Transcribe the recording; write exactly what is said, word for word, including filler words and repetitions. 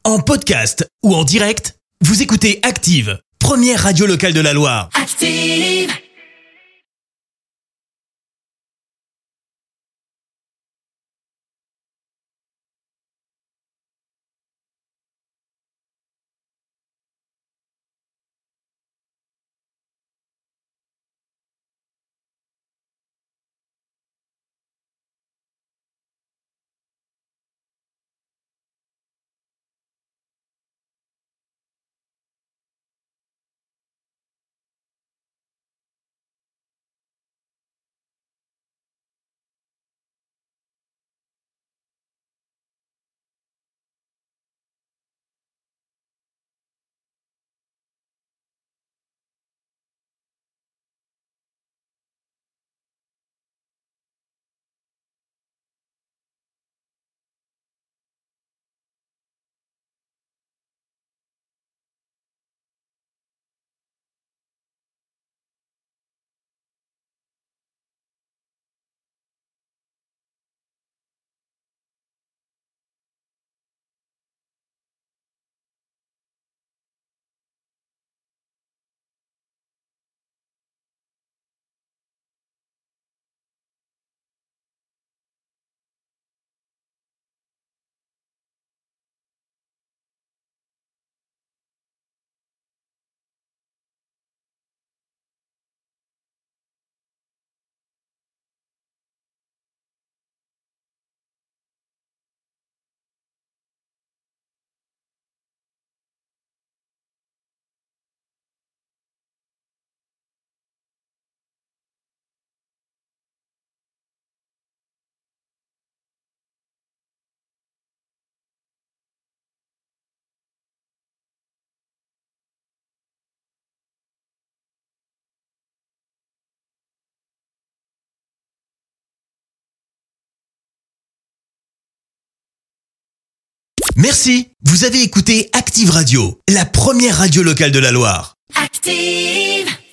En podcast ou en direct, vous écoutez Active, première radio locale de la Loire. Active. Merci, vous avez écouté Active Radio, la première radio locale de la Loire. Active.